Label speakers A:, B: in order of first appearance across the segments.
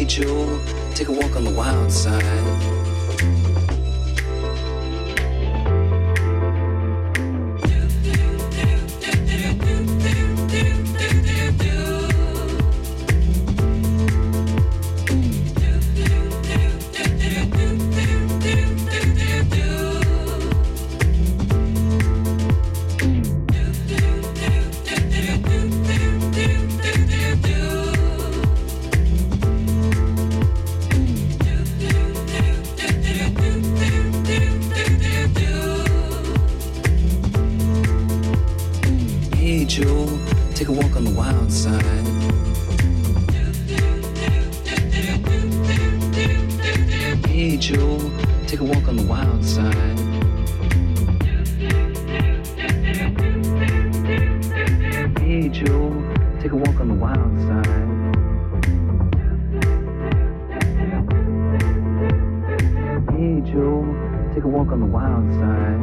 A: Joe, take a walk on the wild side. Take a walk on the wild side. Hey Joe, take a walk on the wild side. Hey Joe, take a walk on the wild side. Hey Joe, take a walk on the wild side.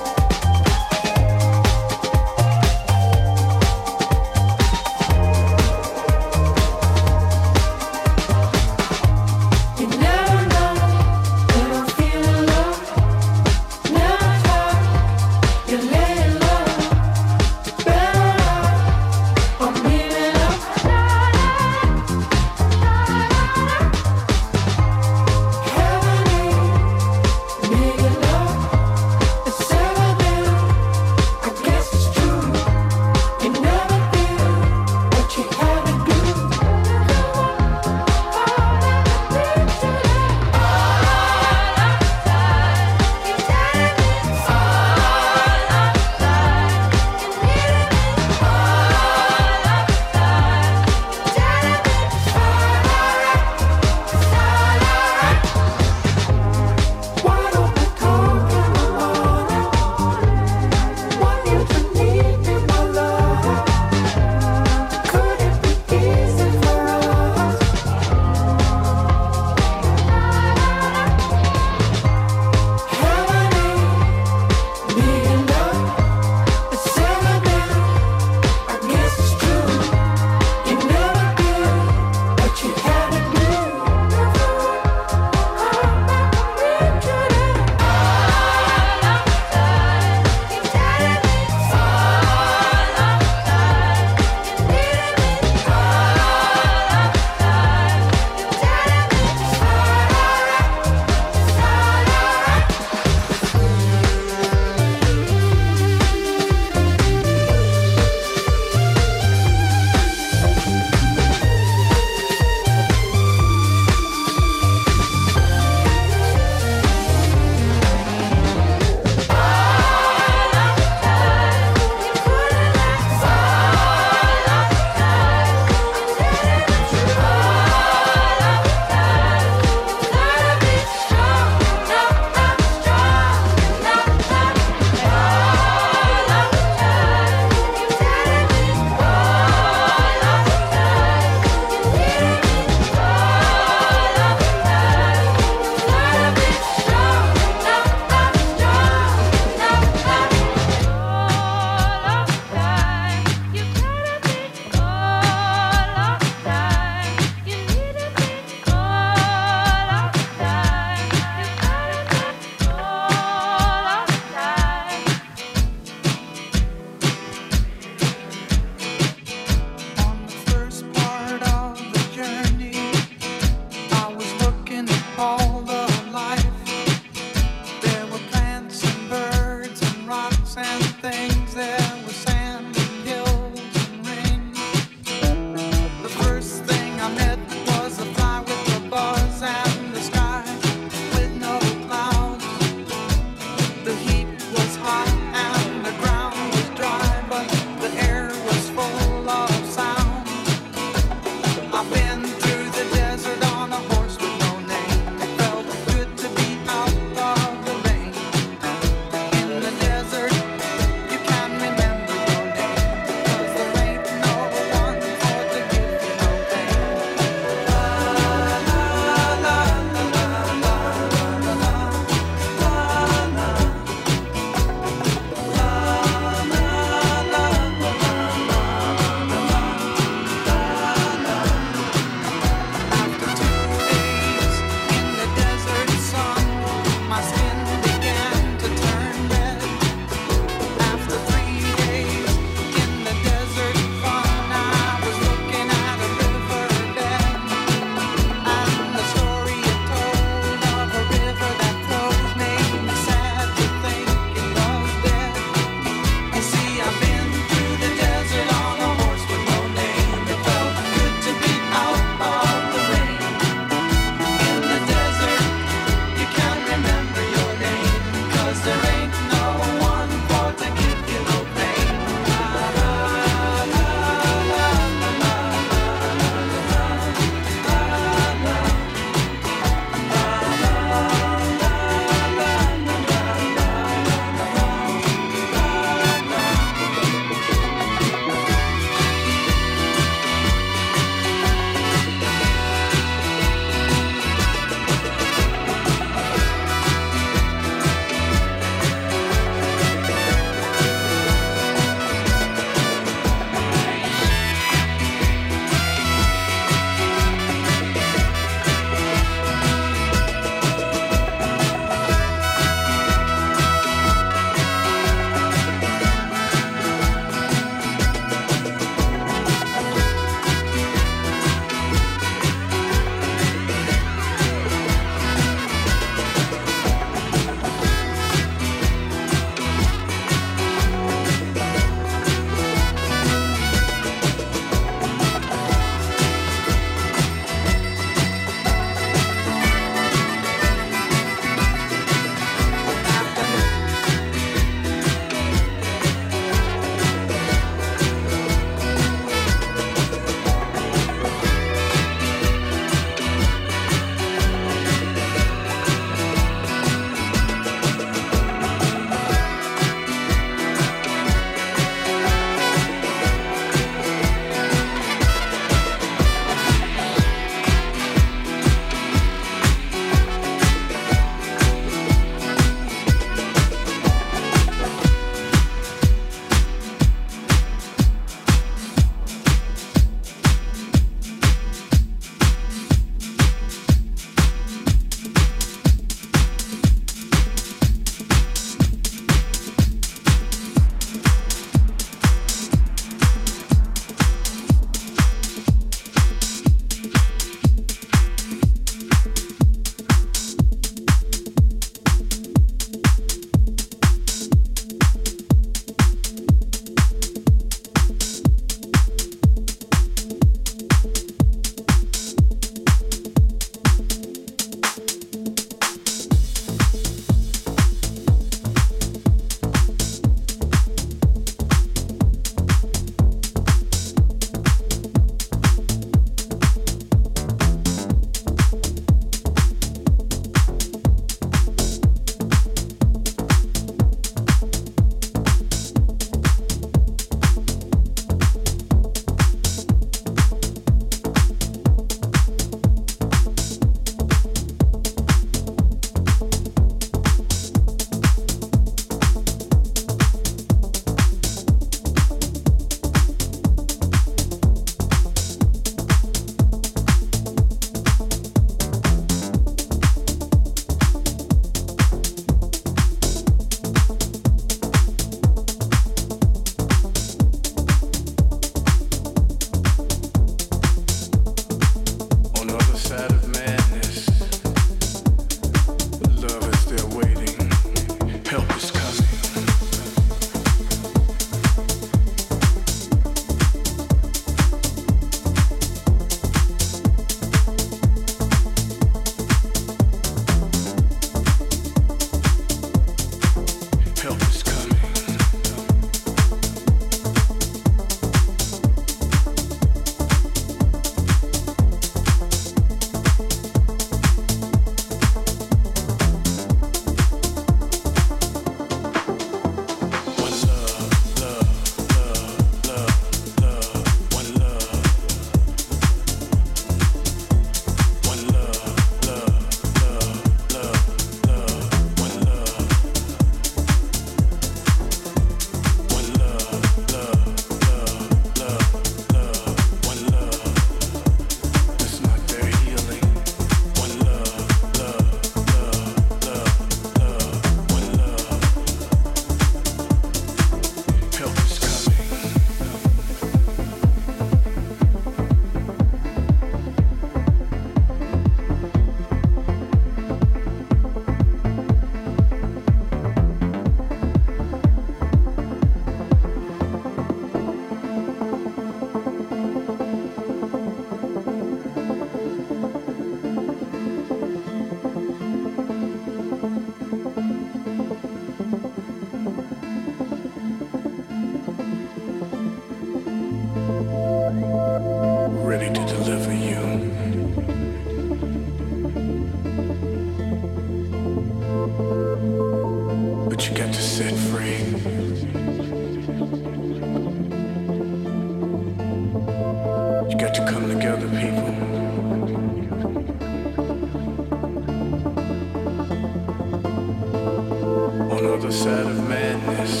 B: other side of madness.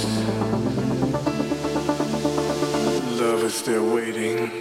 B: Love is there waiting.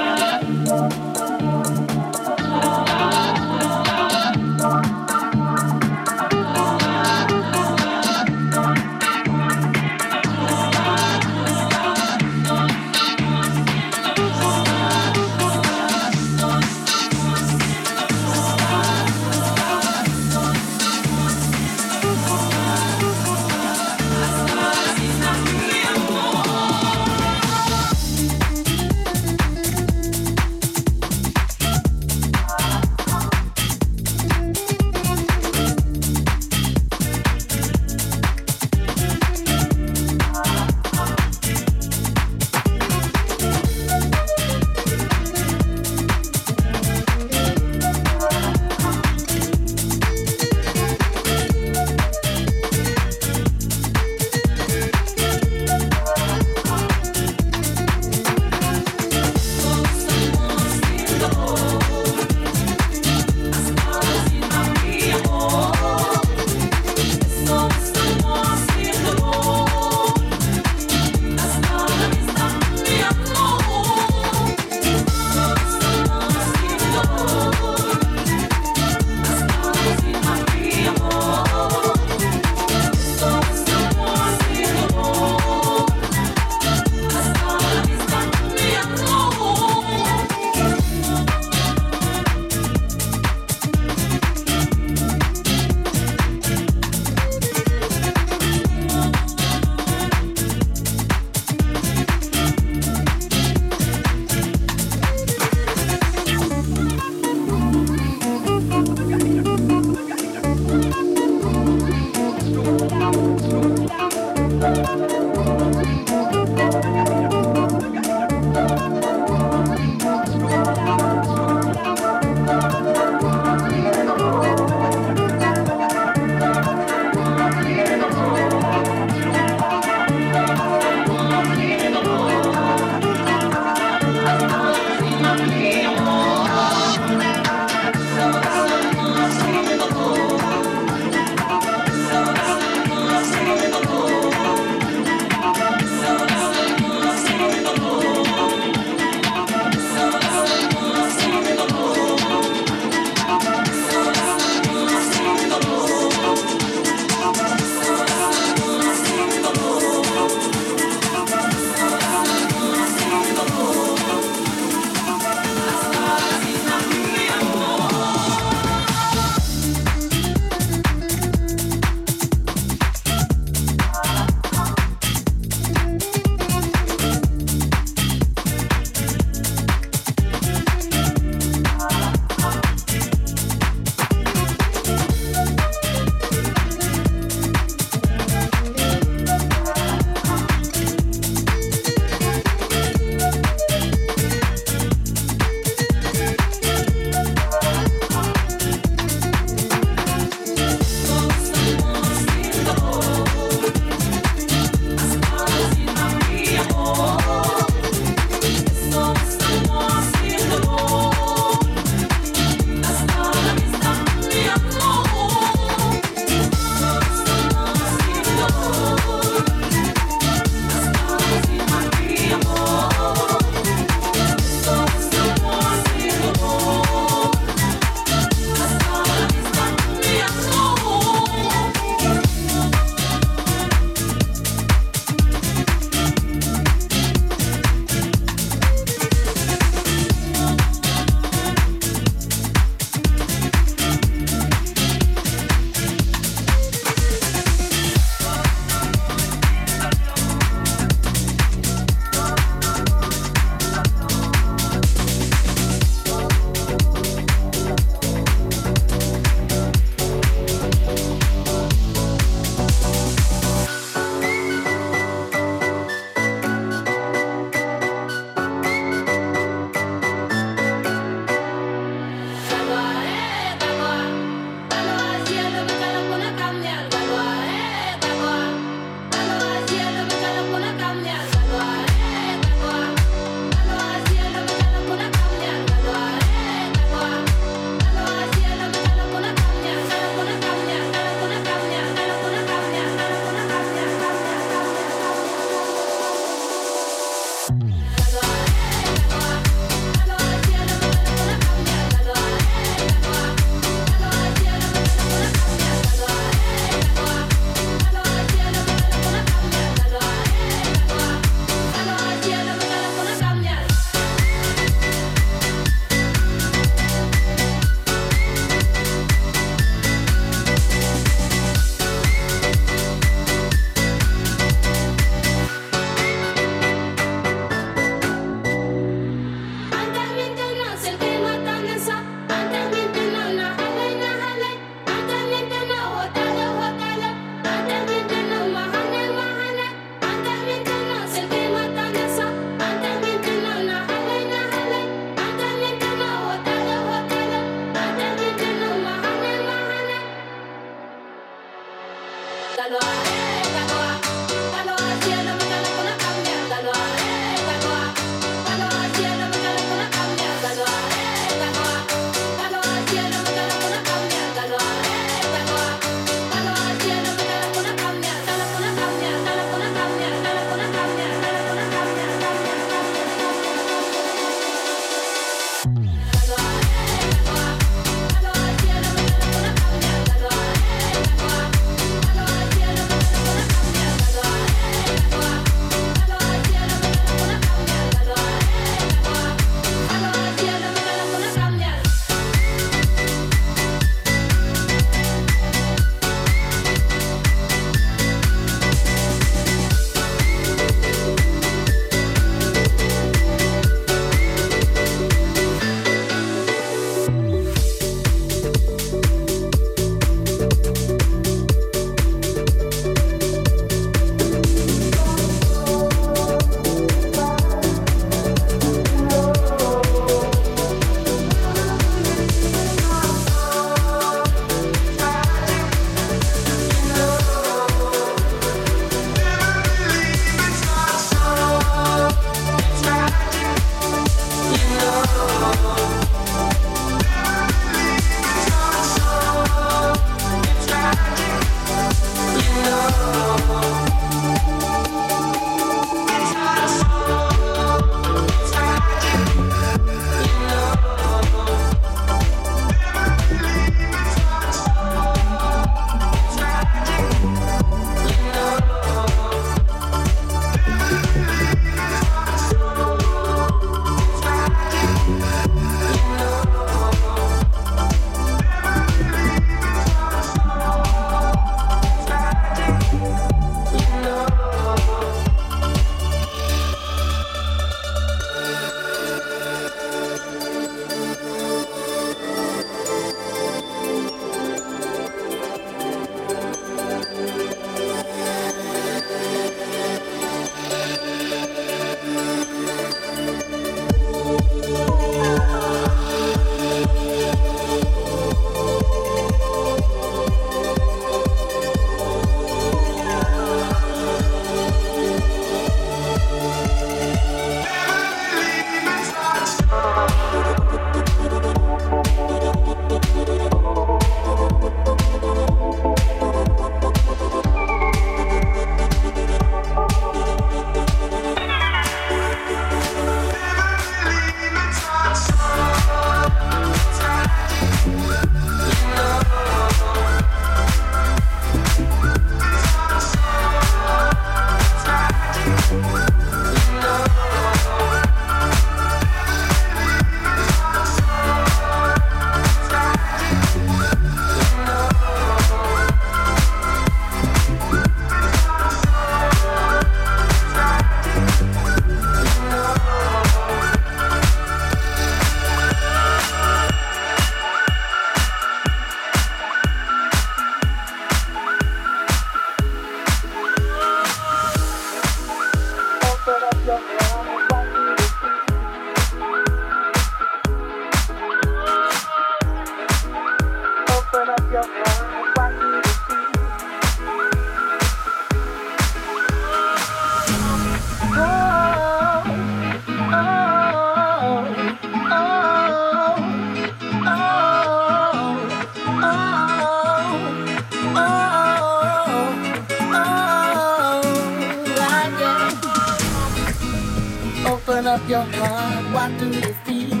C: up your heart, what do you feel?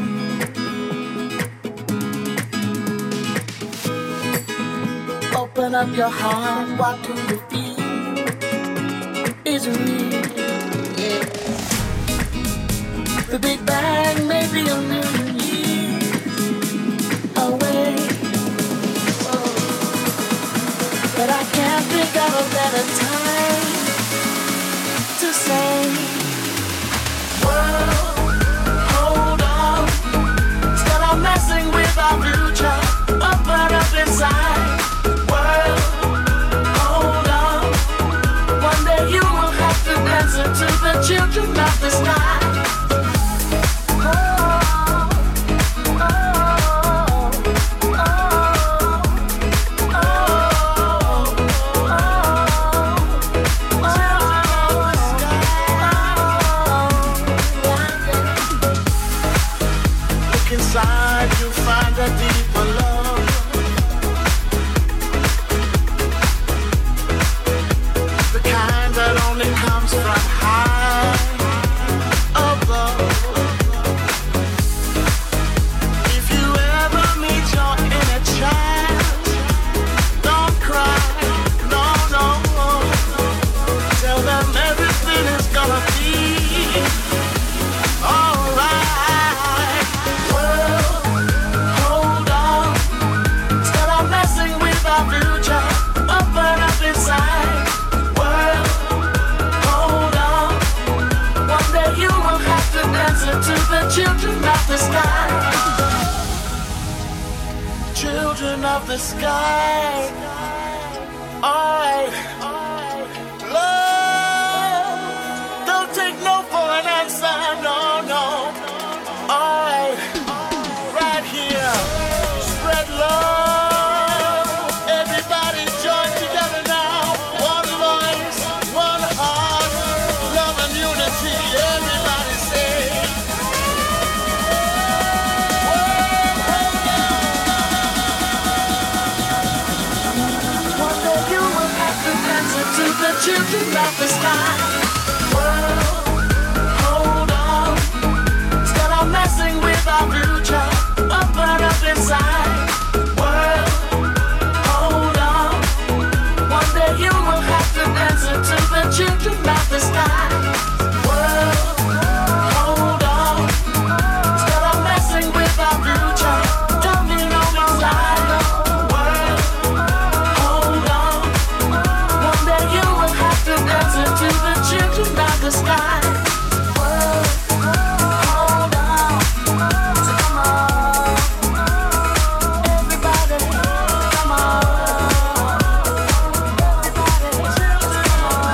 C: Open up your heart, what do you feel? Is it real? Yeah. The Big Bang may be a million years away, oh, but I can't think of a better time to say, world, hold on, instead of messing with our future, open up inside. World, hold on, one day you will have to answer to the children of the sky. to the children of the sky. Children of the sky. Alright. Love. Don't take no for an answer. No, no. Alright. Right here. Spread love. Everybody join together now. One voice, one heart. Love and unity. Everybody say. One day you will have to answer to the children of the sky. World, hold on. Stop messing with our future. Open up inside. World, hold on. One day you will have to answer to the children of the sky. World, hold on. Stop messing with our future. Jumping on inside. World, hold on. One day you will have to answer to the children of the sky. World, hold on. So come on, everybody, come on, everybody, children, come on.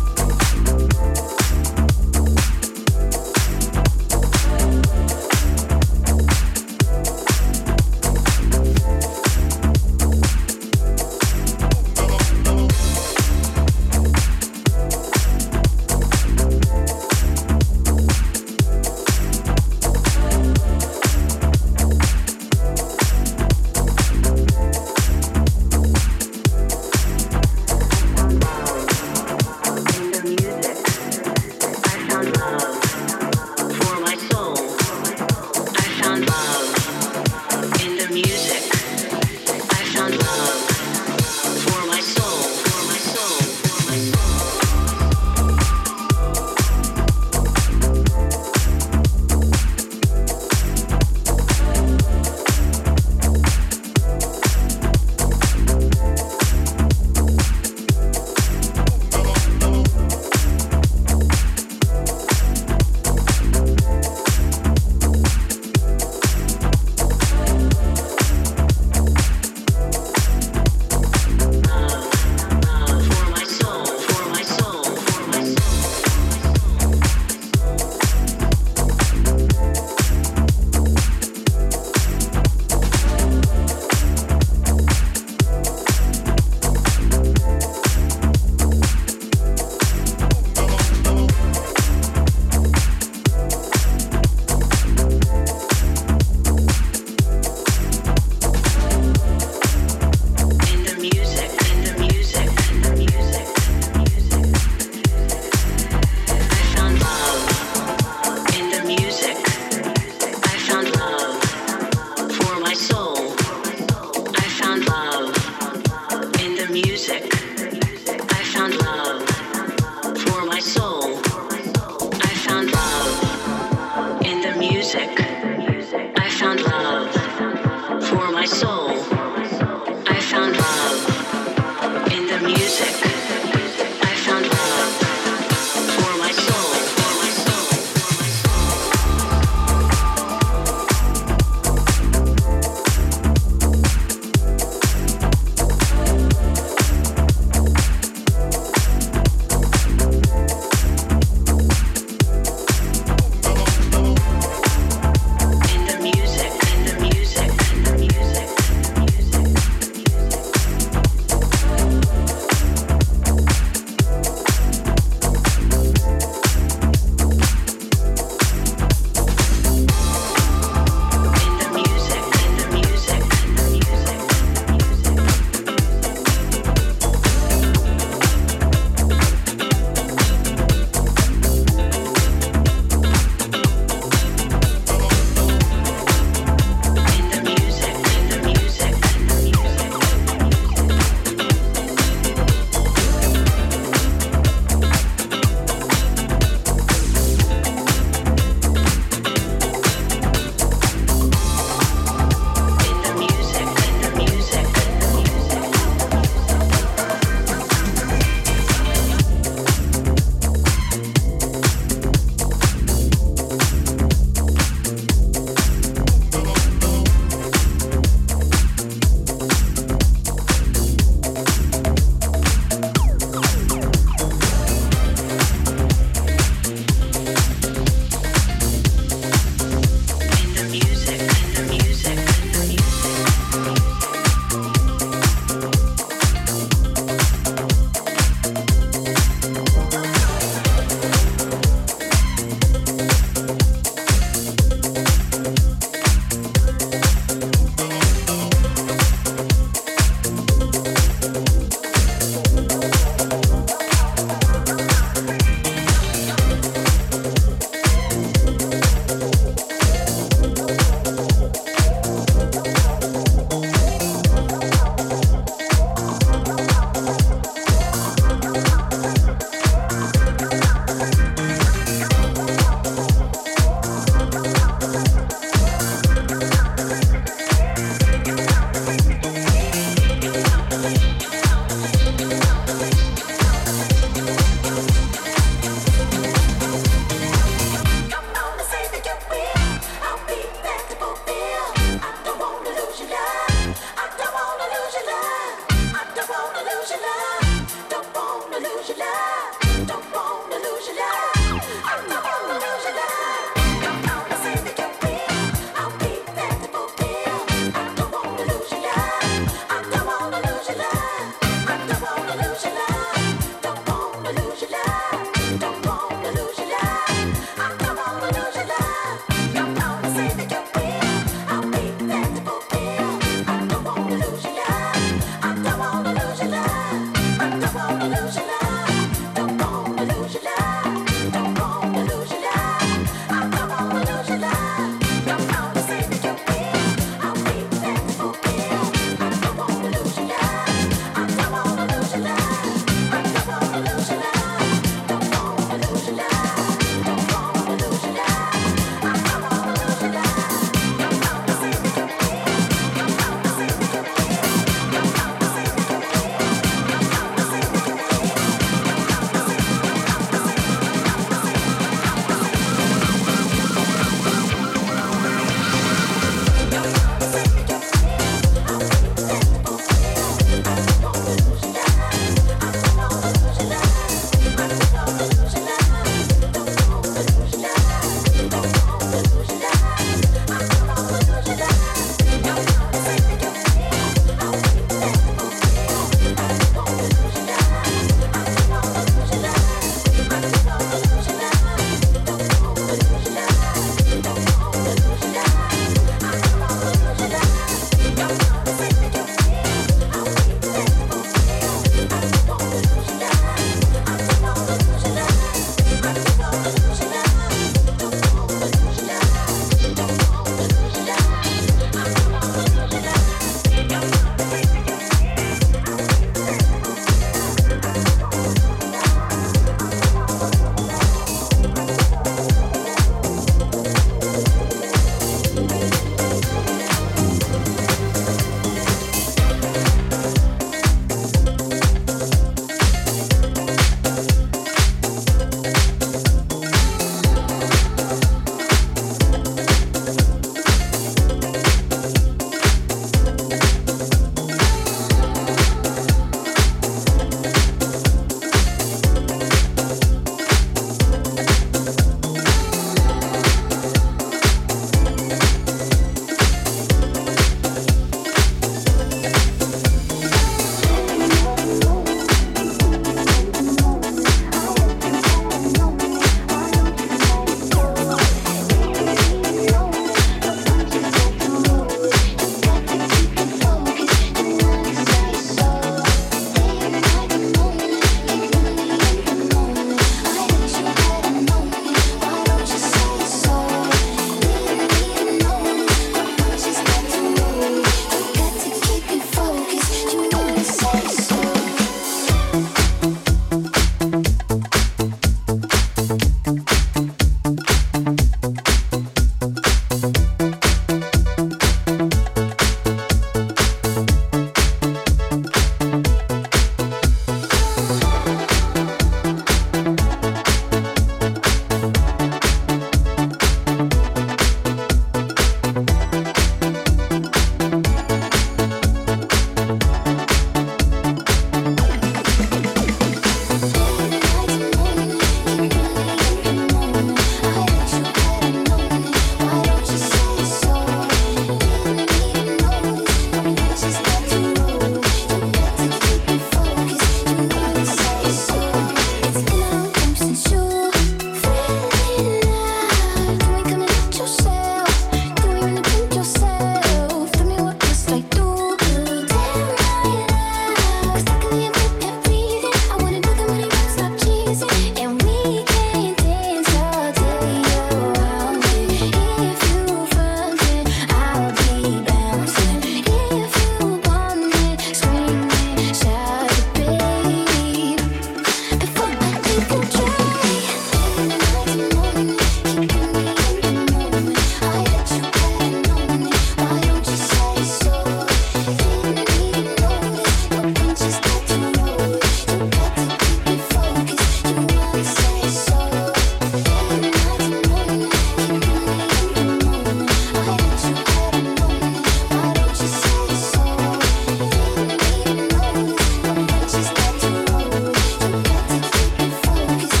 D: Focus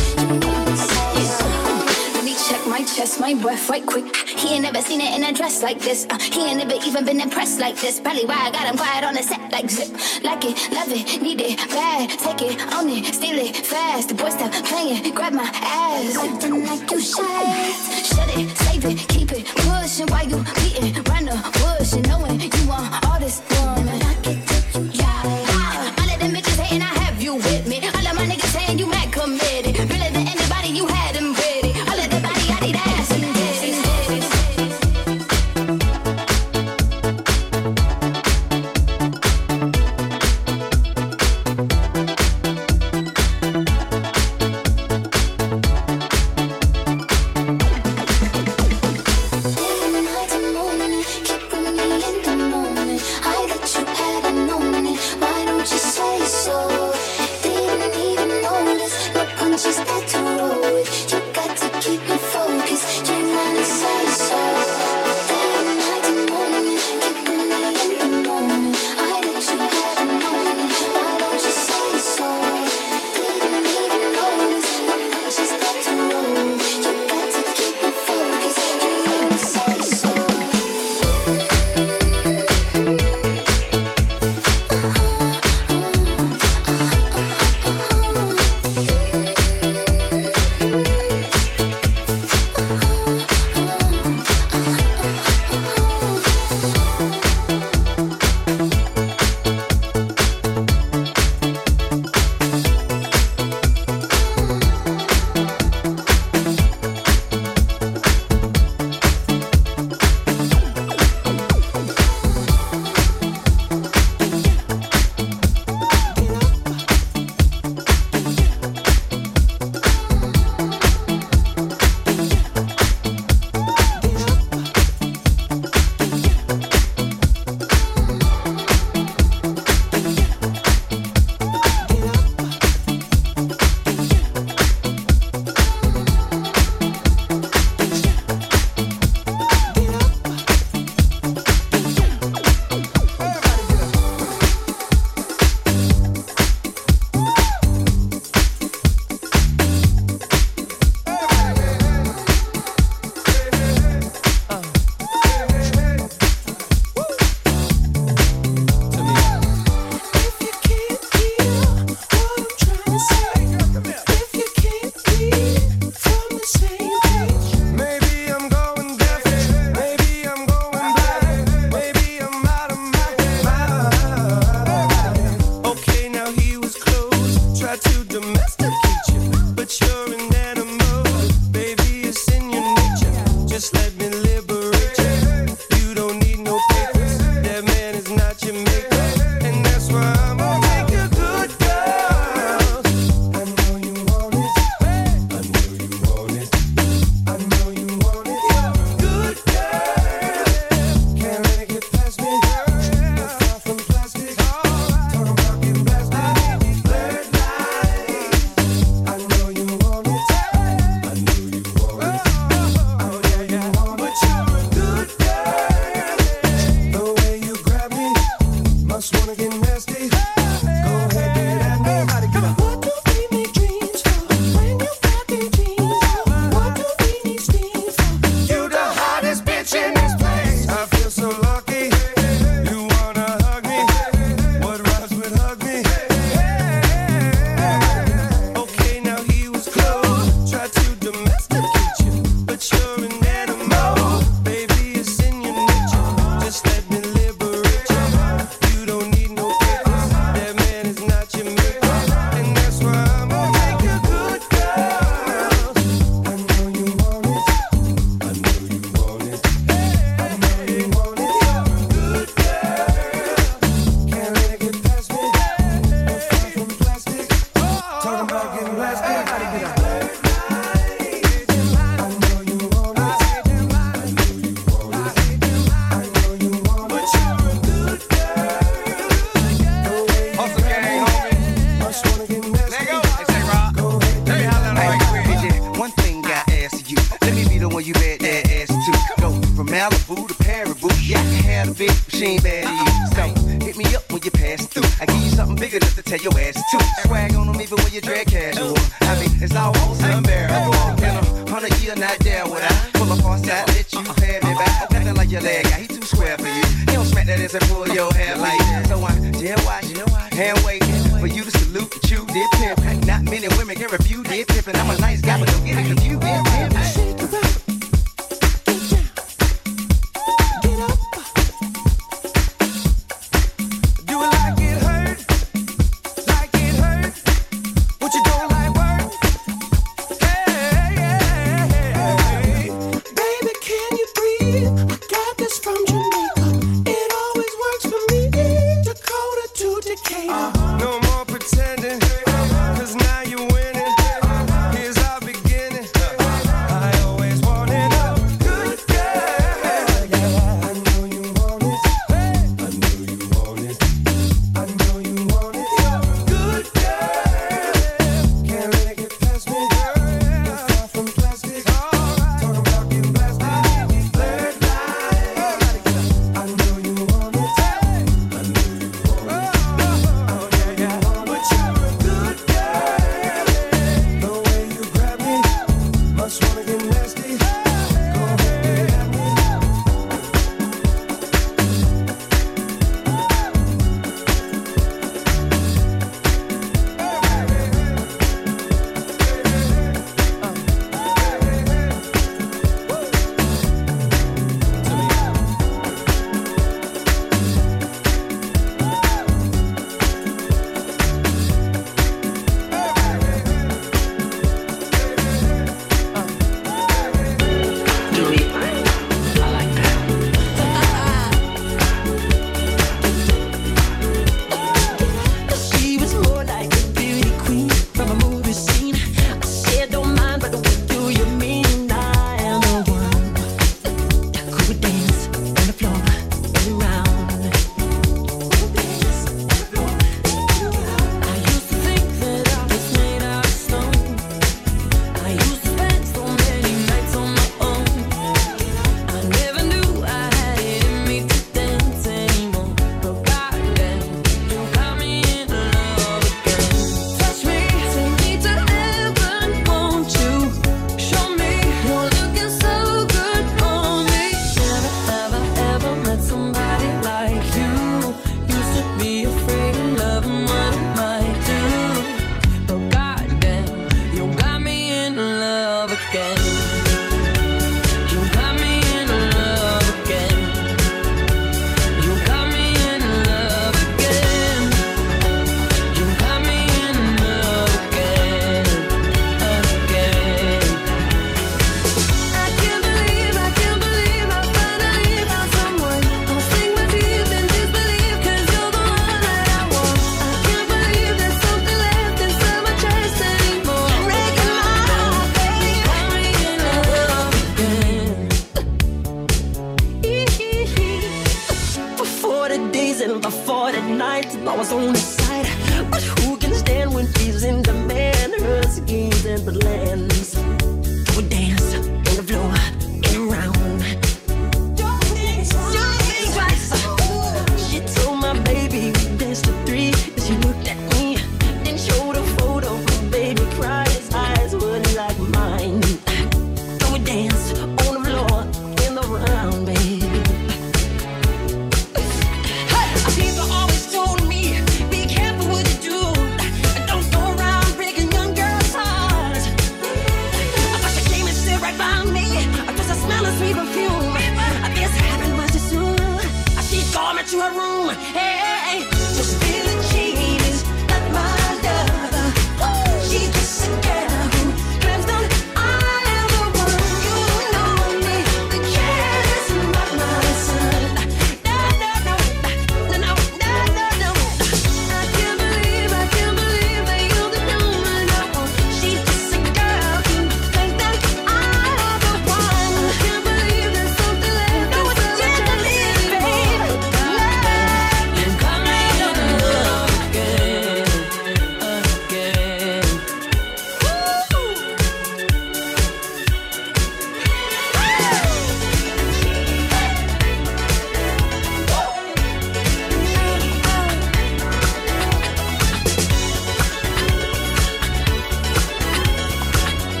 D: my breath right quick. He ain't never seen it in a dress like this. He ain't never even been impressed like this. Probably why I got him quiet on the set like zip. Like it, love it, need it, bad. Take it, own it, steal it, fast. The boy stop playing, grab my ass. Acting like you shy. Shut it, save it, keep it pushing while you beating round the bush and knowing you want all this woman. Yeah, all of them bitches hating, I have you with me. All of my niggas saying you mad committed. Realer than anybody, you had them ready. All of the body, I need ass and titties.
E: your leg out. He too square for you. He don't smack that ass and pull your hair like that. So I just watch, hand waiting for you to salute and chew this pimp. Not many women can refuse this pimpin'. I'm a nice guy, but don't get it confused. Shake it up.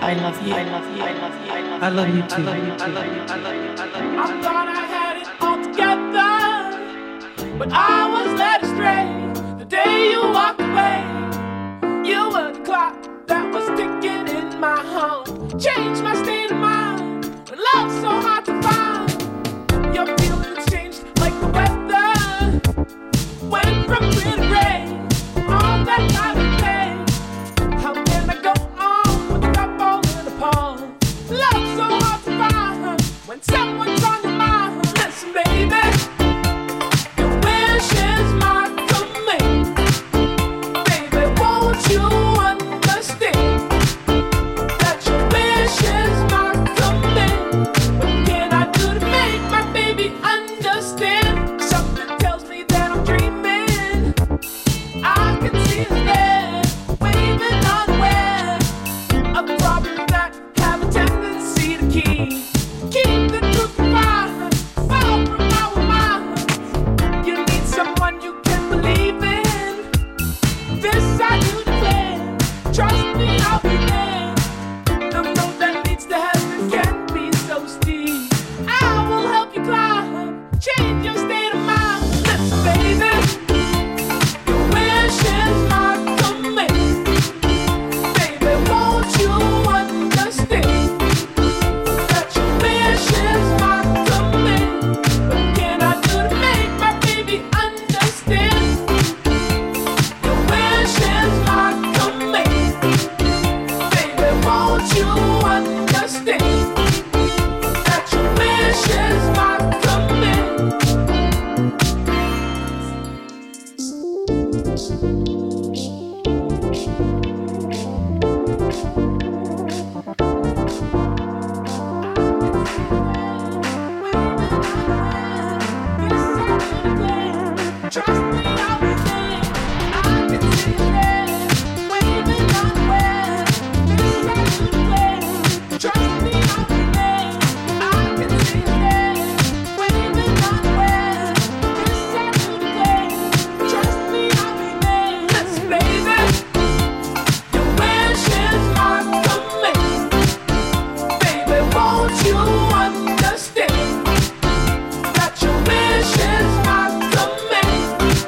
F: I love you. I love you. I love you. I love you too.
C: I thought I had it all together, but I was led astray the day you walked away. You were the clock that was ticking in my heart, changed my state of mind. When love's so hard to find, your feelings changed like the weather. Went from clear to gray on that night of day. How can I go on without falling apart? Love's so hard to find when someone's on your mind. Listen, baby, your wish is my command. Baby, won't you understand that your wish is my command? What can I do to make my baby understand? Something tells me that I'm dreaming. I can see us there, waving unaware of problems that have a tendency to keep the truth confined, far from our minds. You need someone you can believe in. This I do declare. Trust me, I'll be there. The road that leads to heaven can be so steep. I will help you climb, change your state of mind. Listen, baby, your wish is my command. Baby, won't you understand that your wish is my command? What can I do to make my baby understand? Your wish is my command. Baby, won't you understand that your wish is my command? Trust me, I'll be there. I can see you there, waving unaware. This I do declare. Trust me, I'll be there. I can see you there, waving unaware. This I do declare. Trust me, I'll be there. Listen, baby, your wish is my command. Baby, won't you understand that your wish is my command?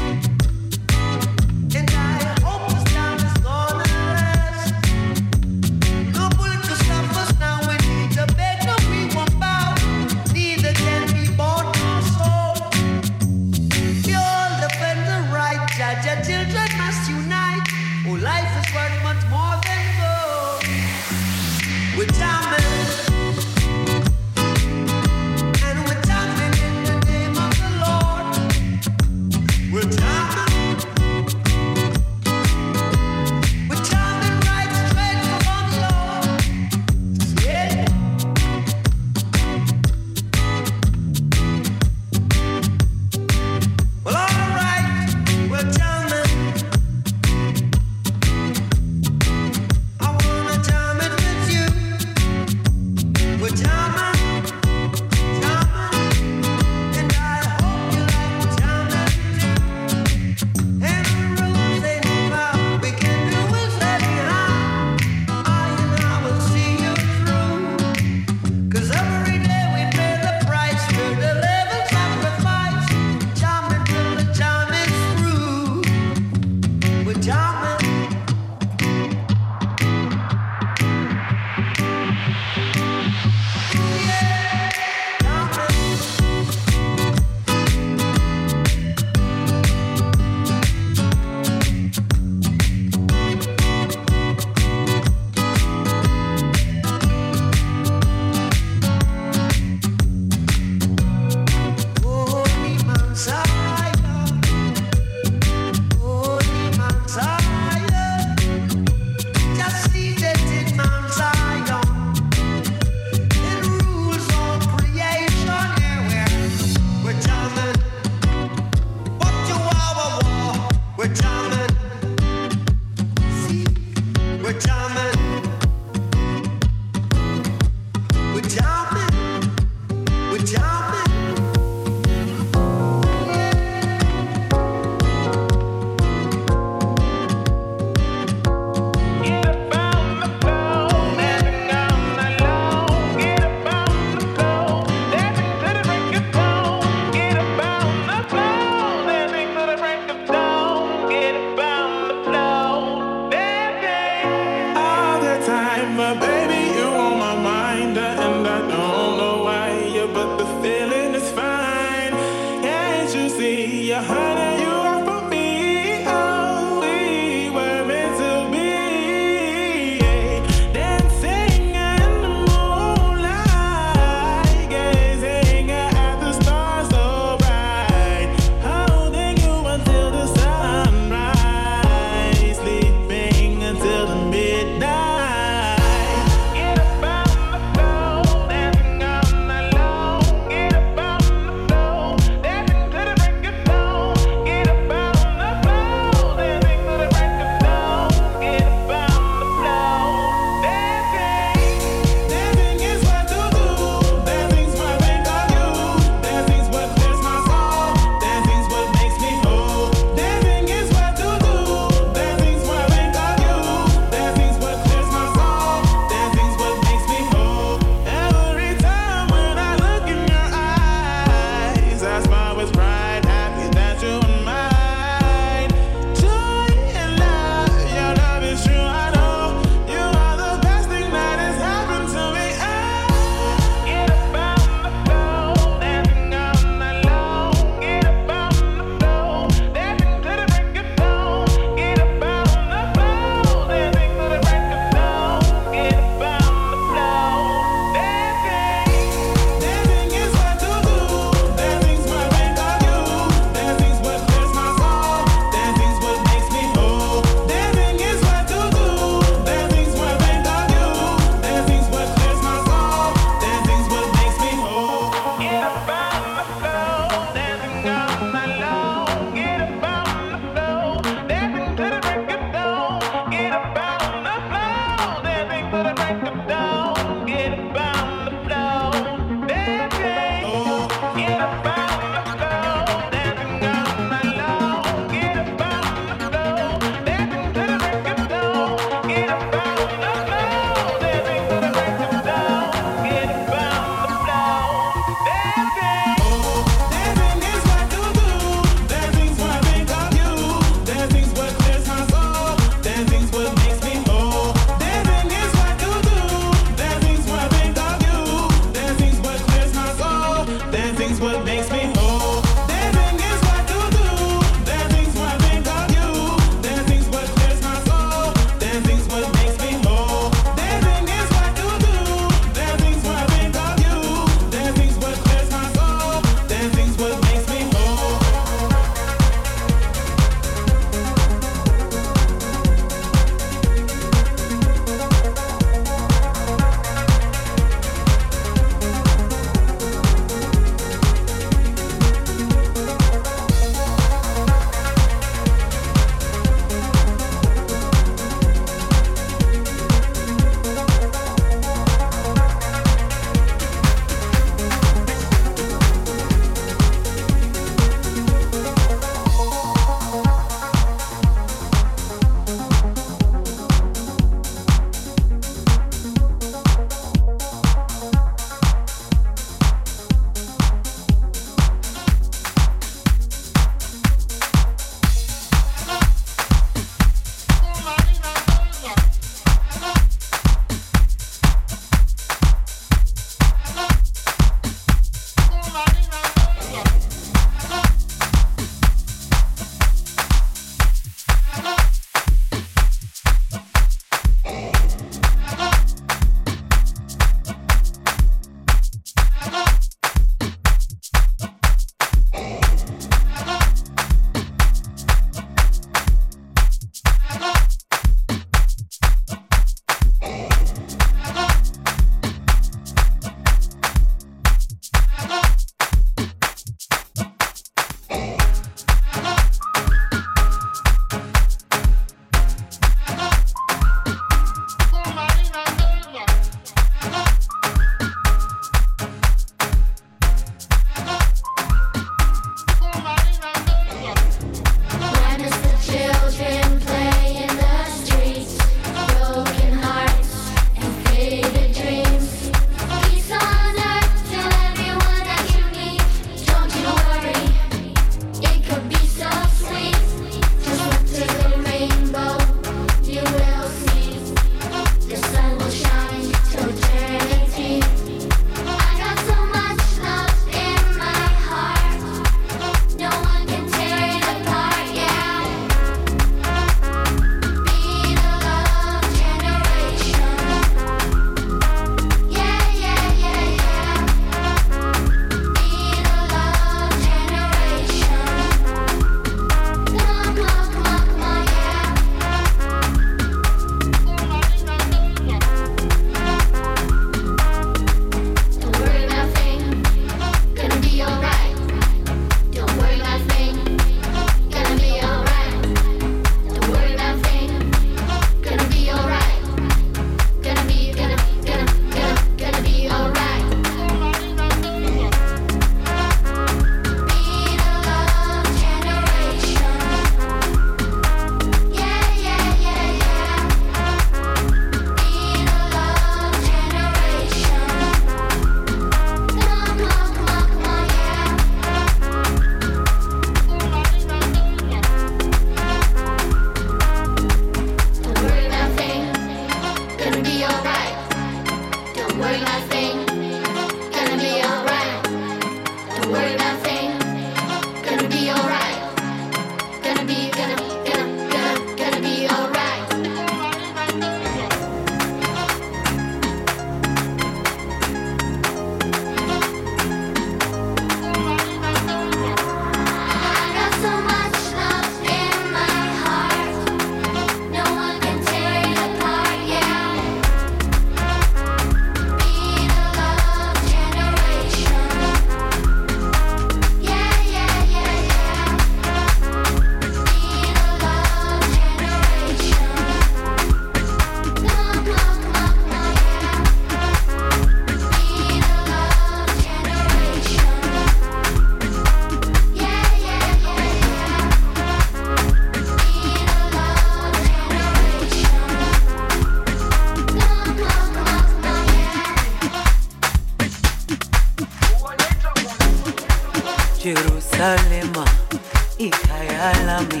G: Jerusalema ikhaya lami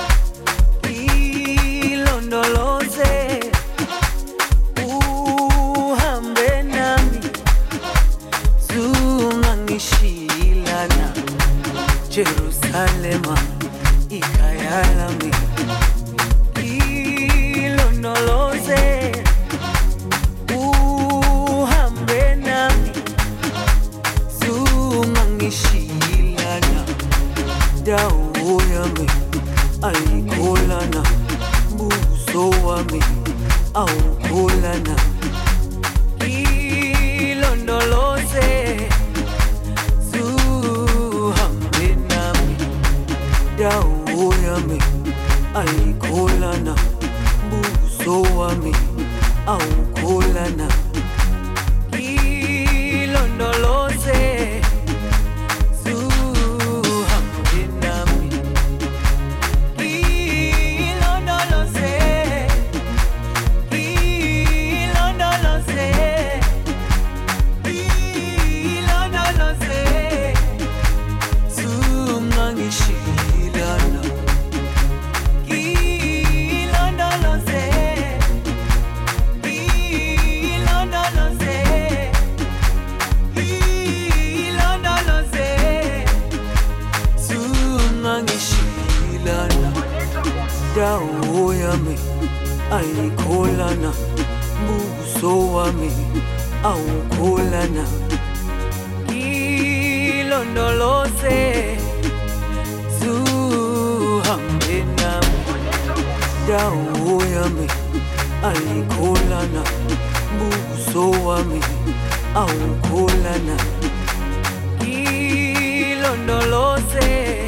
G: ilondoloze uhambe nami zungangishilana Jerusalema ikhaya lami ilondoloze uhambe nami zungangishilana dawo yami ayikholana buso wami awukholana ilondoloze zuhambe nami dawo yami ayikholana buso wami awukholana ilondoloze dawo yami ayikholana buso wami awukholana ilondoloze zuhambe nami dawo yami ayikholana buso wami awukholana ilondoloze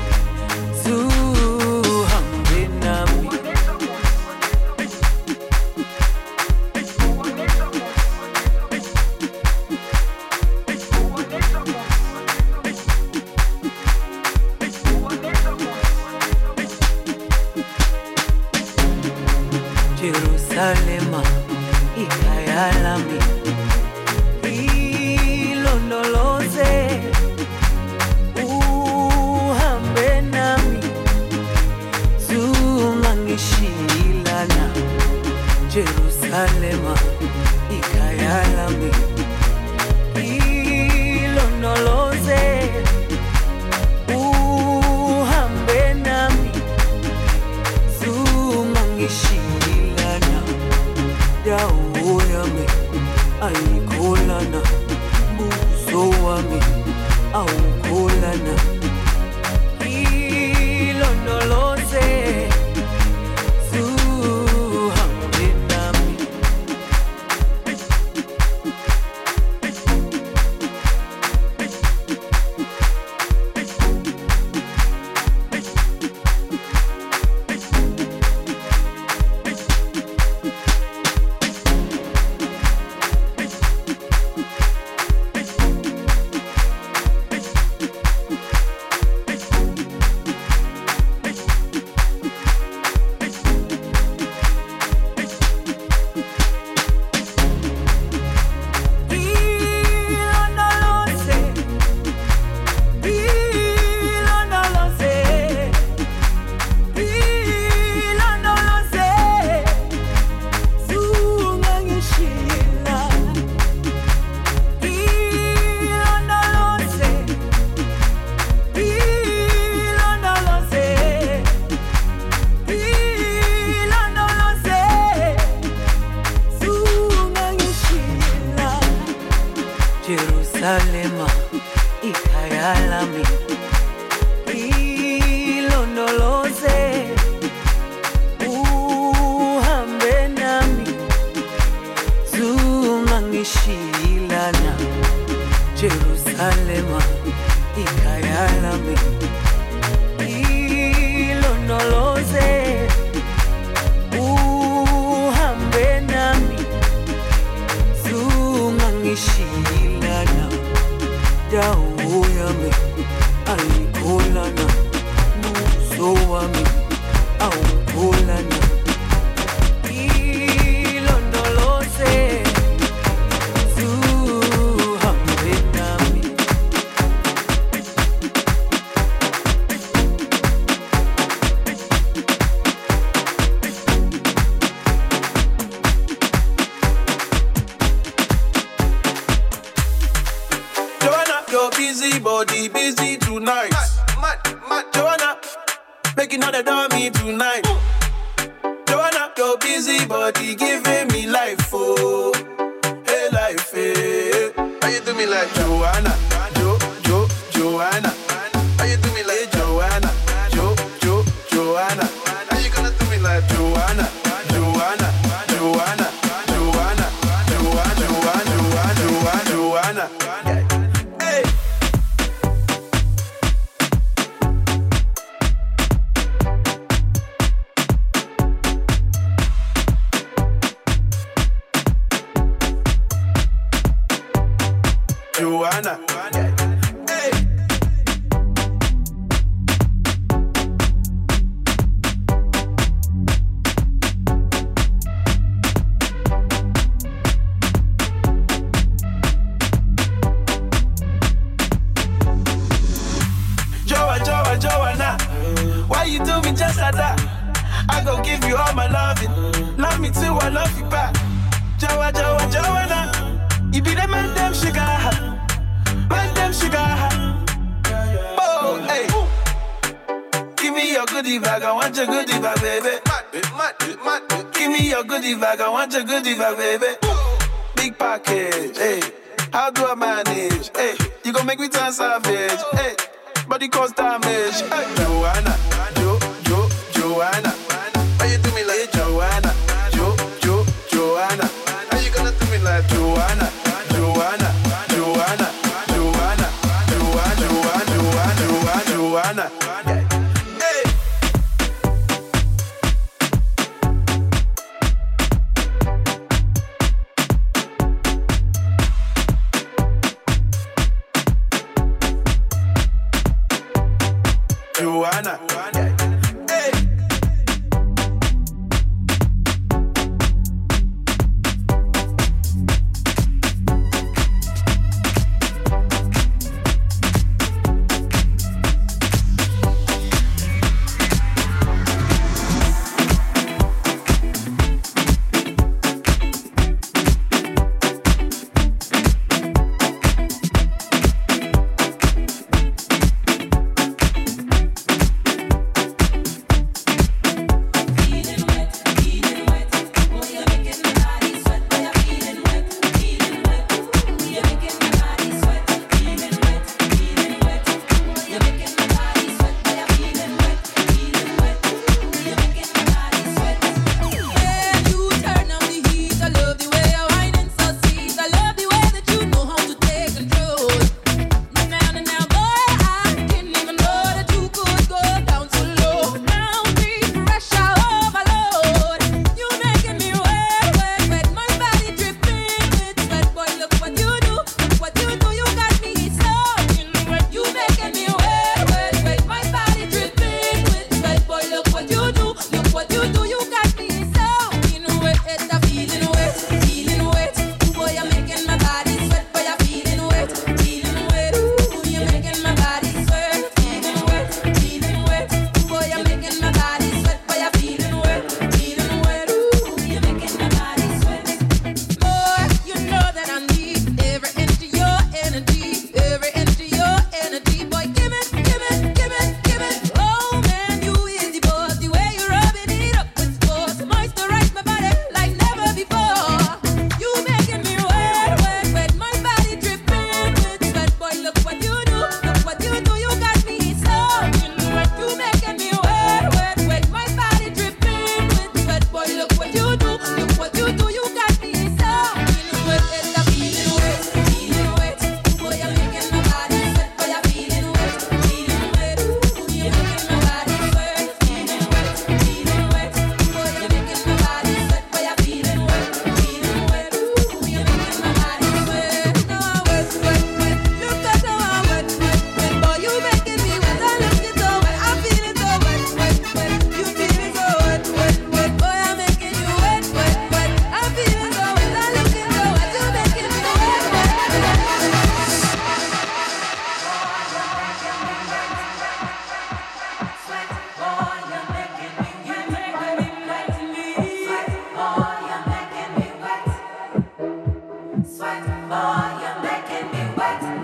G: Jerusalema ikhaya lami ilondoloze uhambe nami zungangishilana Jerusalema ikhaya lami ilondoloze uhambe nami zungangishilana dawo yami ayikholana buso wami awukholana ilondoloze zuhambe nami Jerusalema ikhaya lami ilondoloze uhambe nami zungangishilana Jerusalema ikhaya lami ilondoloze uhambe nami zungangishilana dawo yami ayikholana buso wami awukholana ilondoloze zuhambe nami
H: your busy body busy tonight. Joanna, making all the dummy tonight. Joanna, your busy body giving me life, oh, hey life, hey. How you do me like Joanna, Joanna? How you do me like Joanna, Joanna? How you gonna do me like Joanna? Hey. Joanna. Hey. Joanna, why you do me just like that? I gon' give you all my loving. Love me too, I love you back. Joanna, you be the man, damn sugar. Man, damn sugar. Oh, hey. Give me your goodie bag, I want your goodie bag, baby. Give me your goodie bag, I want your goodie bag, baby. Big package, hey. How do I manage? Hey, you gon' make me turn savage, hey. Body cause damage. Hey, Joanna, Joanna. How you do me like Joanna, Joanna? How you gonna do me like Joanna? Hey. Joanna. Hey.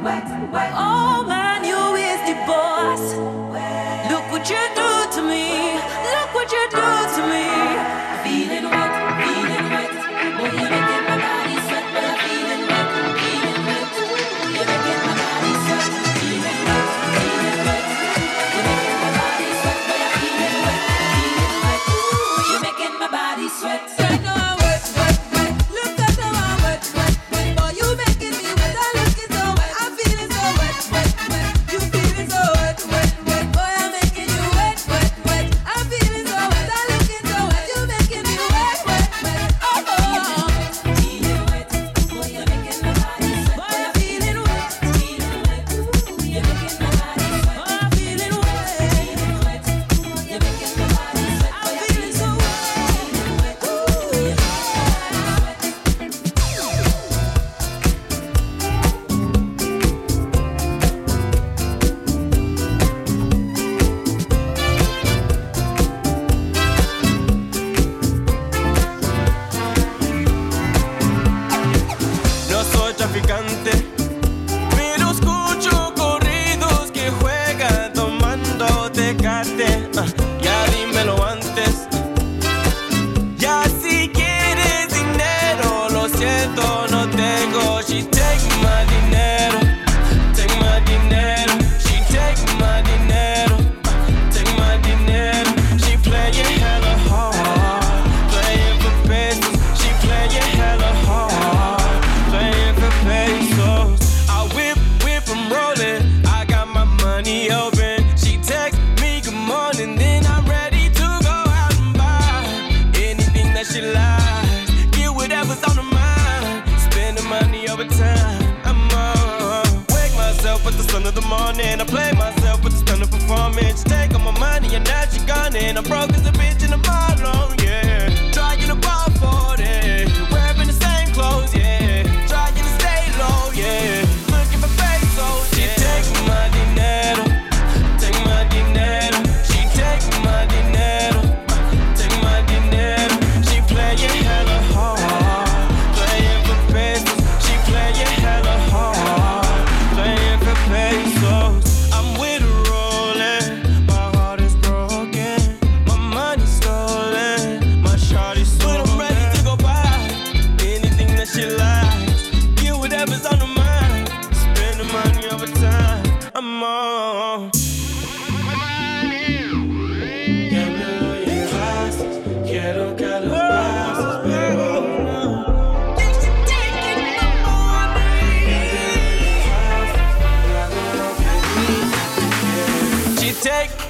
I: Oh man, you is the boss. Look what you do to me. Look what you do to me. Feeling wet, feeling wet. Boy, you're making my body sweat. But I'm feeling wet, feeling wet. You're making my body sweat. Feeling wet, feeling wet. You're making my body sweat. But I'm feeling wet, feeling wet. You're making my body sweat. Right now I'm wet, wet, wet. Look at how I'm wet, wet, wet. Boy, you making me wet. I'm looking so wet. I'm feeling so wet, wet, wet. You feeling so wet, wet, wet. Boy, I'm making you wet, wet, wet. I'm feeling so wet. I'm looking so wet. You making me wet, wet, wet. Oh, oh. Feeling wet. Boy, you're making my body sweat. Boy, I'm feeling wet. Feeling wet. You're making my body sweat. Boy, I'm feeling wet. Feeling wet. You're making my body sweat. I'm feeling so wet. Feeling wet. You're making my body sweat.
H: No soy traficante, pero escucho corridos que juegan tomando Tecate. Ya dímelo antes. Ya si quieres dinero, lo siento, no tengo. She take my dinero, take my dinero. She take my dinero, take my dinero. She playing hella hard, playing for pesos. She playing hella hard, playing for pesos. I whip, I'm rolling. I got my money open. She text me good morning, then I'm ready to go out and buy anything that she likes. Get whatever's on her mind. Spend the money over time. I'm on. Wake myself with the sun of the morning. I play myself with the stunning performance. She take all my money and now she gone. And I'm broke as a bitch in the bottom, yeah. Trying to ball 40, wearing the same clothes, yeah. Trying to stay low, yeah. Looking for pesos, yeah. She take my dinero, take my dinero. She take my dinero, take my dinero. She playing hella hard, playing for pesos. She playing hella hard, playing for pesos. I'm with her rolling, my heart is broken, my money's stolen, my shawty's stolen. But I'm ready to go buy anything that she likes. Get whatever's on her mind. Spend the money over time. I'm on. Ya me lo llevaste, quiero que lo pases, pero no. She take